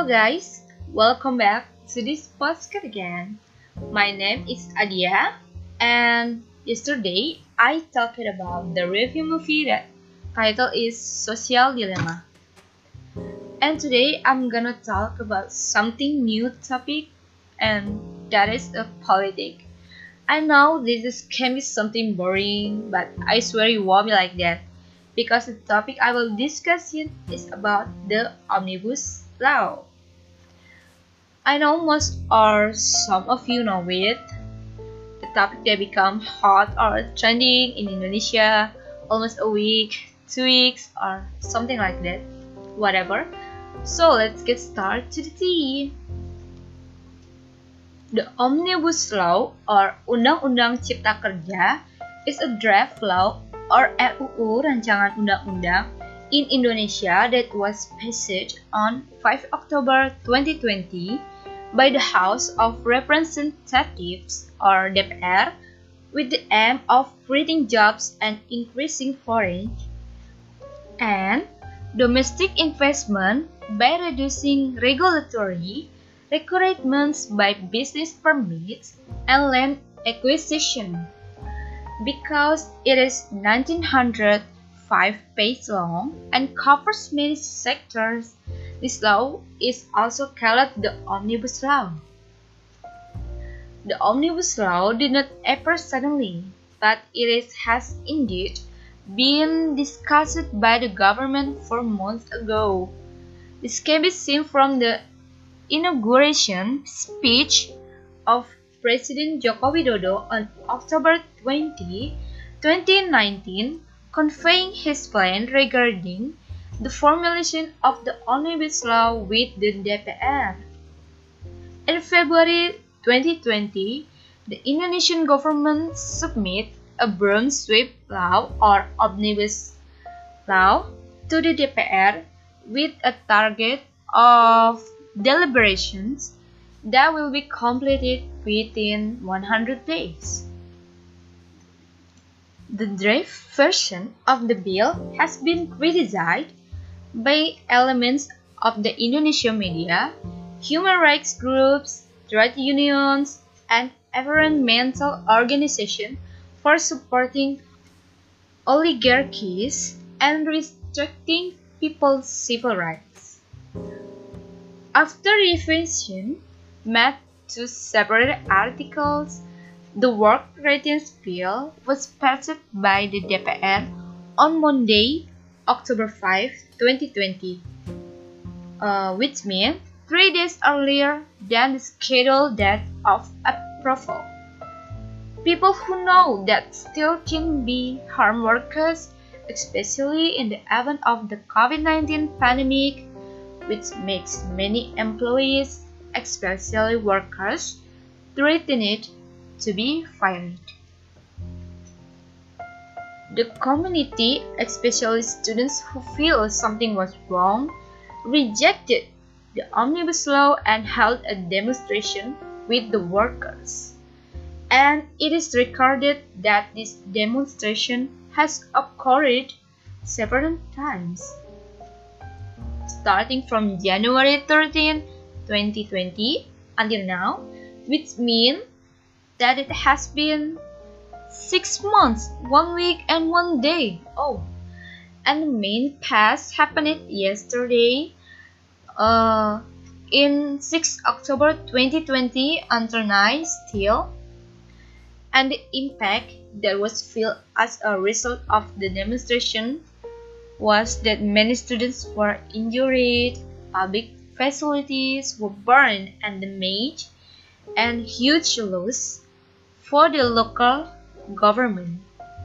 guys, welcome back to this podcast again. My name is Adia, and yesterday I talked about the review movie that title is Social Dilemma. And today I'm gonna talk about something new topic, and that is a politic. I know can be something boring, but I swear you won't be like that, because the topic I will discuss here is about the Omnibus Law. I know most or some of you know it. The topic that become hot or trending in Indonesia almost a week, 2 weeks, or something like that. Whatever. So let's get started to the tea. The Omnibus Law or Undang-Undang Cipta Kerja is a draft law or RUU rancangan undang-undang in Indonesia that was passed on 5 October 2020 by the House of Representatives or DPR with the aim of creating jobs and increasing foreign and domestic investment by reducing regulatory requirements by business permits and land acquisition. Because it is 1905 pages long and covers many sectors, this law is also called the Omnibus Law. The Omnibus Law did not appear suddenly, but has indeed been discussed by the government for months ago. This can be seen from the inauguration speech of President Joko Widodo on October 20, 2019, conveying his plan regarding the formulation of the Omnibus Law with the DPR. In February 2020, the Indonesian government submitted a broad sweep law or Omnibus Law to the DPR with a target of deliberations that will be completed within 100 days. The draft version of the bill has been criticized by elements of the Indonesian media, human rights groups, trade unions, and environmental organizations for supporting oligarchies and restricting people's civil rights. After revision made to separate articles, the work ratings bill was passed by the DPR on Monday, October 5, 2020, which means 3 days earlier than the scheduled date of approval. People who know that still can be harm workers, especially in the event of the COVID-19 pandemic, which makes many employees, especially workers, threatened to be fired. The community, especially students who feel something was wrong, rejected the Omnibus Law and held a demonstration with the workers. And it is recorded that this demonstration has occurred several times, starting from January 13, 2020 until now, which means that it has been 6 months, 1 week, and 1 day. And the main pass happened yesterday, in 6 October 2020 until 9 still. And the impact that was felt as a result of the demonstration was that many students were injured, public facilities were burned and damaged, and huge loss for the local government.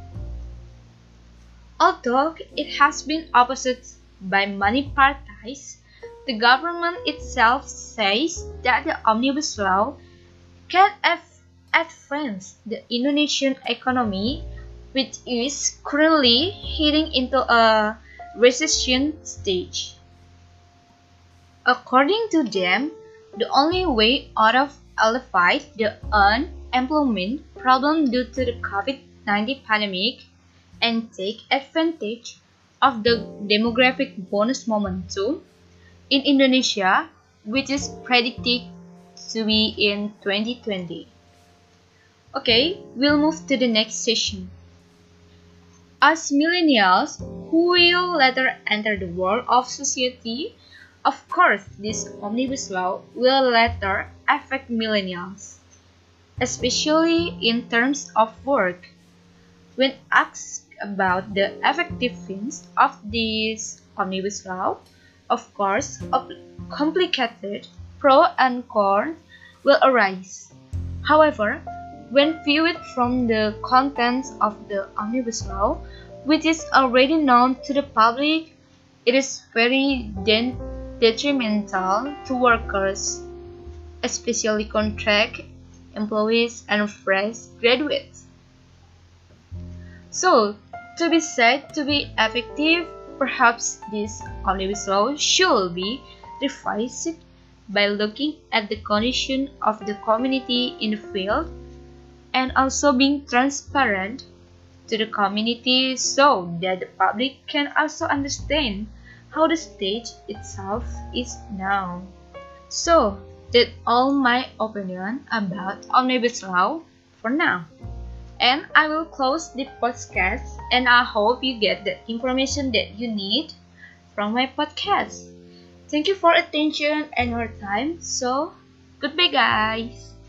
Although it has been opposed by many parties, the government itself says that the Omnibus Law can advance the Indonesian economy, which is currently heading into a recession stage. According to them, the only way out of alleviate the unemployment problem due to the COVID-19 pandemic and take advantage of the demographic bonus momentum in Indonesia which is predicted to be in 2020. Okay, we'll move to the next session. As millennials who will later enter the world of society, of course, this omnibus law will later affect millennials, especially in terms of work. When asked about the effectiveness of this omnibus law, of course, complicated pro and con will arise. However, when viewed from the contents of the omnibus law, which is already known to the public, it is very detrimental to workers, especially contract employees and fresh graduates. So, to be said to be effective, perhaps this omnibus law should be revised by looking at the condition of the community in the field and also being transparent to the community so that the public can also understand how the stage itself is now. So, that's all my opinion about omnibus law for now. And I will close the podcast, and I hope you get the information that you need from my podcast. Thank you for attention and your time. So, goodbye guys.